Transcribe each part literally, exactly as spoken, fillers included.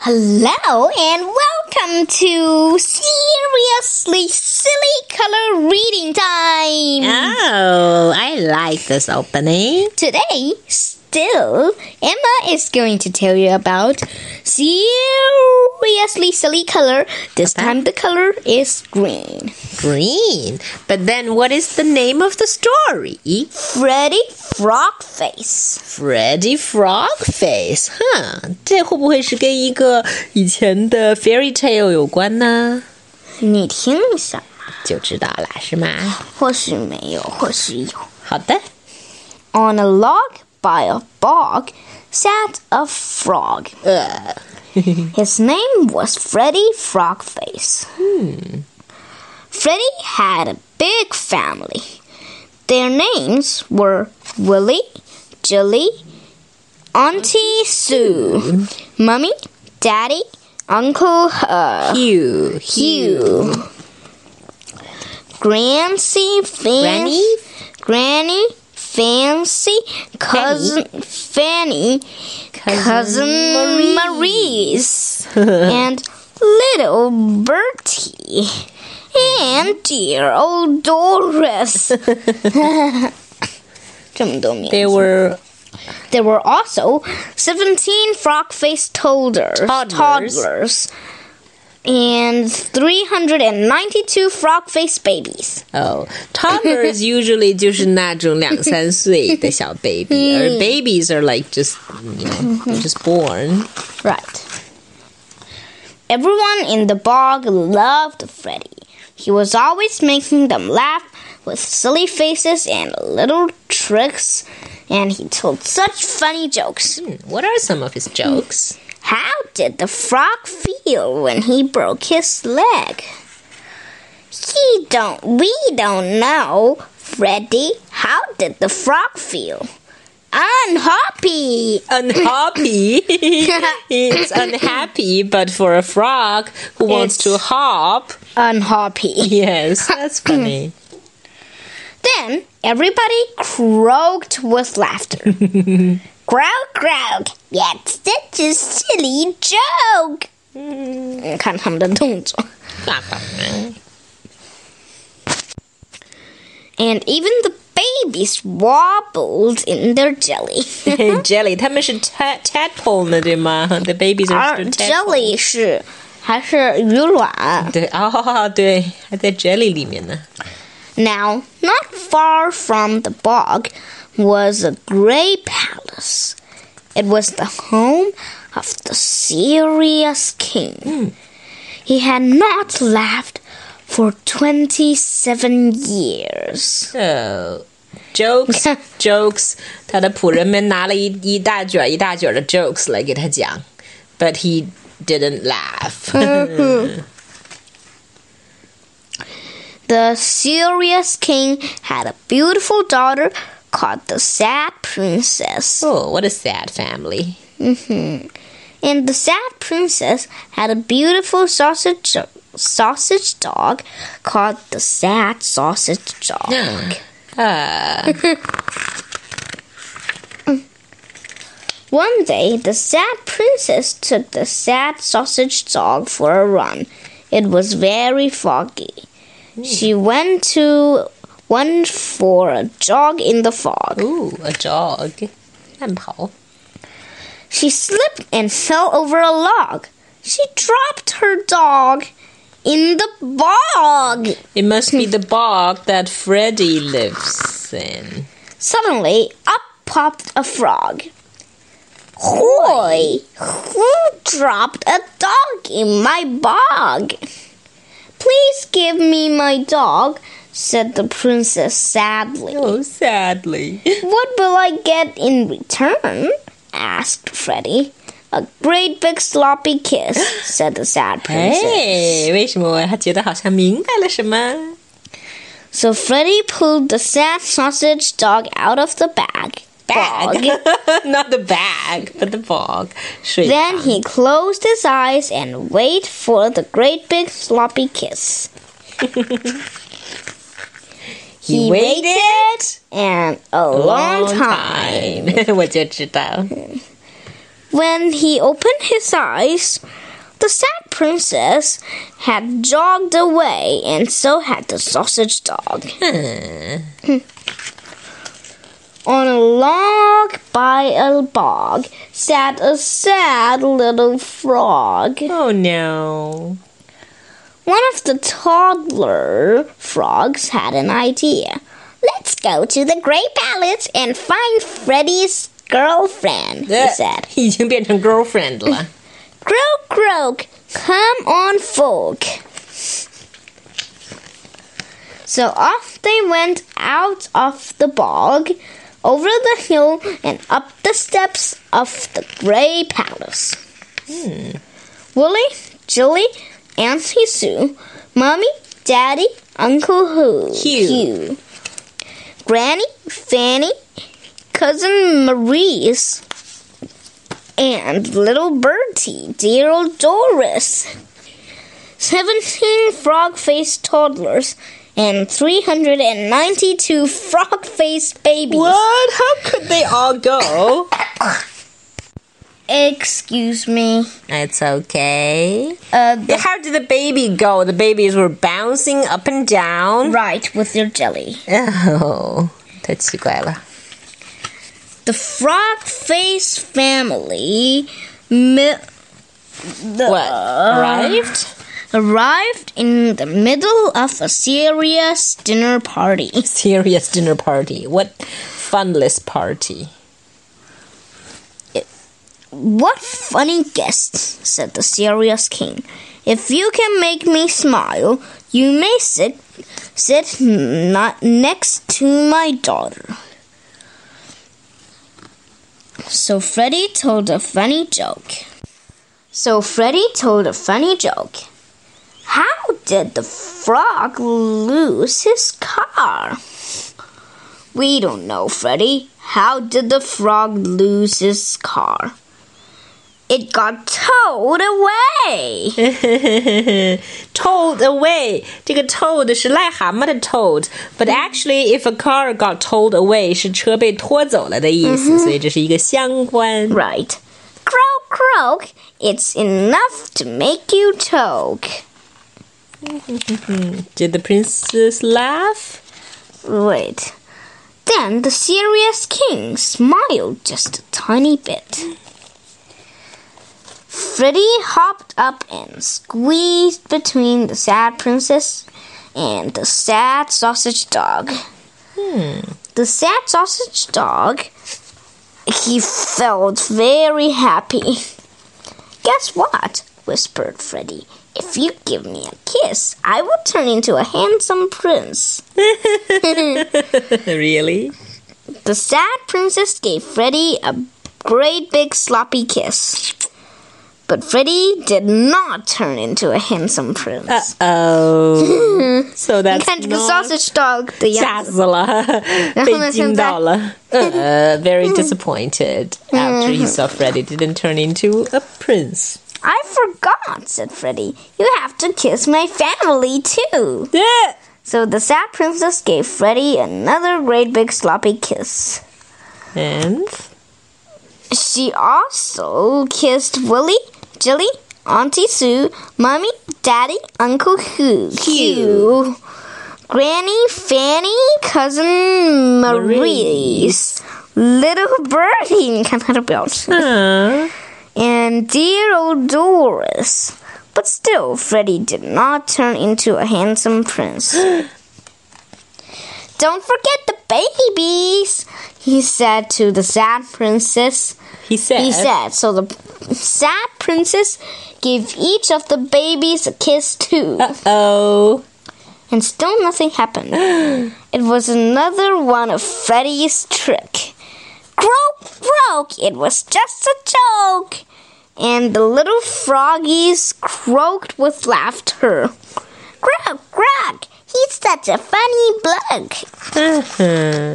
Hello and welcome to Seriously Silly Color Reading Time! Oh, I like this opening. Today, still, Emma is going to tell you about Seriously Silly Color. This Okay. time the color is green. Green. But then what is the name of the story? Freddy Frogface. Freddy Frogface. Huh, 这会不会是跟一个以前的 fairy tale 有关呢？ 你听一下， 就知道了，是吗？ 或许没有，或许有。 好的。 On a log by a bog sat a frog. Uh, His name was Freddy Frogface. hmm. Freddy had a big family. Their names were Willie, Jilly, Auntie Sue, Mummy, Daddy, Uncle uh, Hugh. Hugh, Grancy, Fancy, Granny, Fancy, Cousin Fanny, Cousin, Cousin Maurice, and little Bertie, and dear old Doris. 这么多名字。 They were There were also seventeen frog-faced toddlers, Toddlers. toddlers and three hundred ninety-two frog-faced babies. oh toddlers usually 就是那种两三岁的小 baby, or babies are like just you know they're just born. Right. Everyone in the bog loved Freddy. He was always making them laugh with silly faces and little tricks, and he told such funny jokes. Hmm, what are some of his jokes? How did the frog feel when he broke his leg? He don't, we don't know, Freddy. How did the frog feel? Unhappy. Unhappy. It's unhappy, but for a frog who wants It's- to hop. Unhappy. Yes, that's funny. Then everybody croaked with laughter. Croak, croak. That's such a silly joke. 你看他们的动作。And even the babies wobbled in their jelly. Jelly, 他们是 tad tadpole 呢，对吗？ The babies are 而 still tadpole. jelly 是还是鱼卵。 对，哦，对，还在 jelly 里面呢。 Now, not far from the bog was a gray palace. It was the home of the serious king. He had not laughed for twenty-seven years. So, jokes, jokes. 他的仆人们拿了一一大卷一大卷的 jokes 来给他讲 but he didn't laugh. The serious king had a beautiful daughter called the Sad Princess. Oh, what a sad family. Mm-hmm. And the Sad Princess had a beautiful sausage sausage dog called the Sad Sausage Dog. Ah. One day, the Sad Princess took the Sad Sausage Dog for a run. It was very foggy. She went to went for a jog in the fog. Ooh, a jog. 慢跑. She slipped and fell over a log. She dropped her dog in the bog. It must be the bog that Freddy lives in. Suddenly, up popped a frog. Hoy! Who dropped a dog in my bog? Please give me my dog, said the princess sadly. Oh, sadly. What will I get in return? Asked Freddy. A great big sloppy kiss, said the sad princess. Hey, 为什么他觉得好像明白了什么? So Freddy pulled the sad sausage dog out of the bag. Bag. Not the bag, but the bog. 水 Then 塘. he closed his eyes and waited for the great big sloppy kiss. He waited and a long, long time. time. 我就知道. When he opened his eyes, the sad princess had jogged away, and so had the sausage dog. On a log by a bog sat a sad little frog. Oh no. One of the toddler frogs had an idea. Let's go to the Grey Palace and find Freddy's girlfriend, he said. 已经变成 girlfriend 了。 Croak, croak, come on, folk. So off they went out of the bog, over the hill, and up the steps of the Grey Palace. Hmm. Willie, Jilly, Auntie Sue, Mommy, Daddy, Uncle Hugh, Hugh. Hugh, Granny, Fanny, Cousin Maurice, and little Bertie, dear old Doris. Seventeen frog-faced toddlers and three hundred ninety-two frog-faced babies. What? How could they all go? Excuse me. It's okay. Uh, the, How did the baby go? The babies were bouncing up and down. right, with your jelly. Oh, 太奇怪了。 The frog-faced family mi- the, What? Arrived? arrived in the middle of a serious dinner party. Serious dinner party. What funless party? What funny guests, said the serious king. If you can make me smile, you may sit, sit not next to my daughter. So Freddy told a funny joke. So Freddy told a funny joke. How did the frog lose his car? We don't know, Freddy. How did the frog lose his car? It got towed away. Towed away. 这个 towed 是癞蛤蟆的 towed, but actually, if a car got towed away, 是车被拖走了的意思， 所以这是一个相关。 Right. Croak, croak. It's enough to make you choke. Did the princess laugh? Wait. Then the serious king smiled just a tiny bit. Freddy hopped up and squeezed between the sad princess and the sad sausage dog. Hmm. The sad sausage dog, he felt very happy. Guess what? Whispered Freddy. If you give me a kiss, I will turn into a handsome prince. Really? The sad princess gave Freddy a great big sloppy kiss. But Freddy did not turn into a handsome prince. Uh-oh. So that's 你看这个 not... sausage dog 的样子。 吓死了，被惊到了。Uh, very disappointed after he saw Freddy didn't turn into a prince. I forgot, said Freddy. You have to kiss my family too. Yeah. So the sad princess gave Freddy another great big sloppy kiss. And? She also kissed Willie, Jilly, Auntie Sue, Mommy, Daddy, Uncle Hugh, Hugh, Granny, Fanny, Cousin Maurice, little Bertie, 你看她的表情 Uh. and dear old Doris. But still, Freddy did not turn into a handsome prince. Don't forget the babies, he said to the sad princess. He said. He said. So the sad princess gave each of the babies a kiss too. Uh-oh. And still nothing happened. It was another one of Freddy's trick. Croak, croak, it was just a joke. And the little froggies croaked with laughter. Croak, croak, he's such a funny bloke. Uh-huh.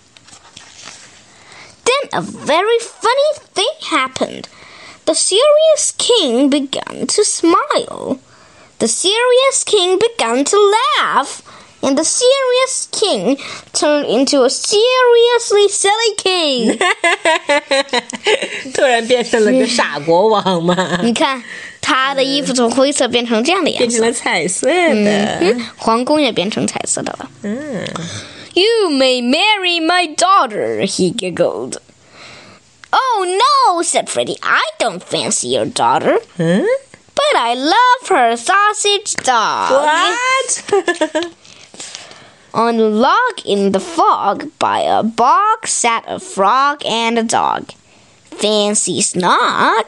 Then a very funny thing happened. The serious king began to smile. The serious king began to laugh. and the serious king turned into a seriously silly king. 突然变成了个傻国王嘛。 你看，他的衣服从灰色变成这样的颜色， 变成了彩色的。 嗯，皇宫也变成彩色的了。 嗯 You may marry my daughter, he giggled. Oh no, said Freddie. I don't fancy your daughter. 嗯 But I love her sausage dog. What? On a log in the fog by a bog sat a frog and a dog. Fancy snog.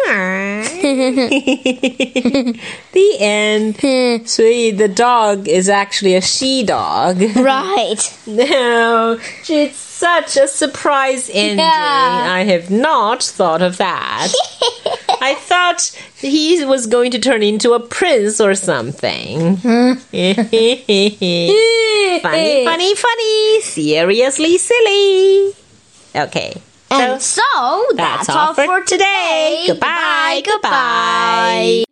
The end. 所以 the dog is actually a she dog. Right. No, it's such a surprise ending. Yeah. I have not thought of that. I thought he was going to turn into a prince or something. Funny, funny, funny. Seriously silly. Okay. And so, that's that's all all for for today. today. Goodbye, Goodbye. goodbye.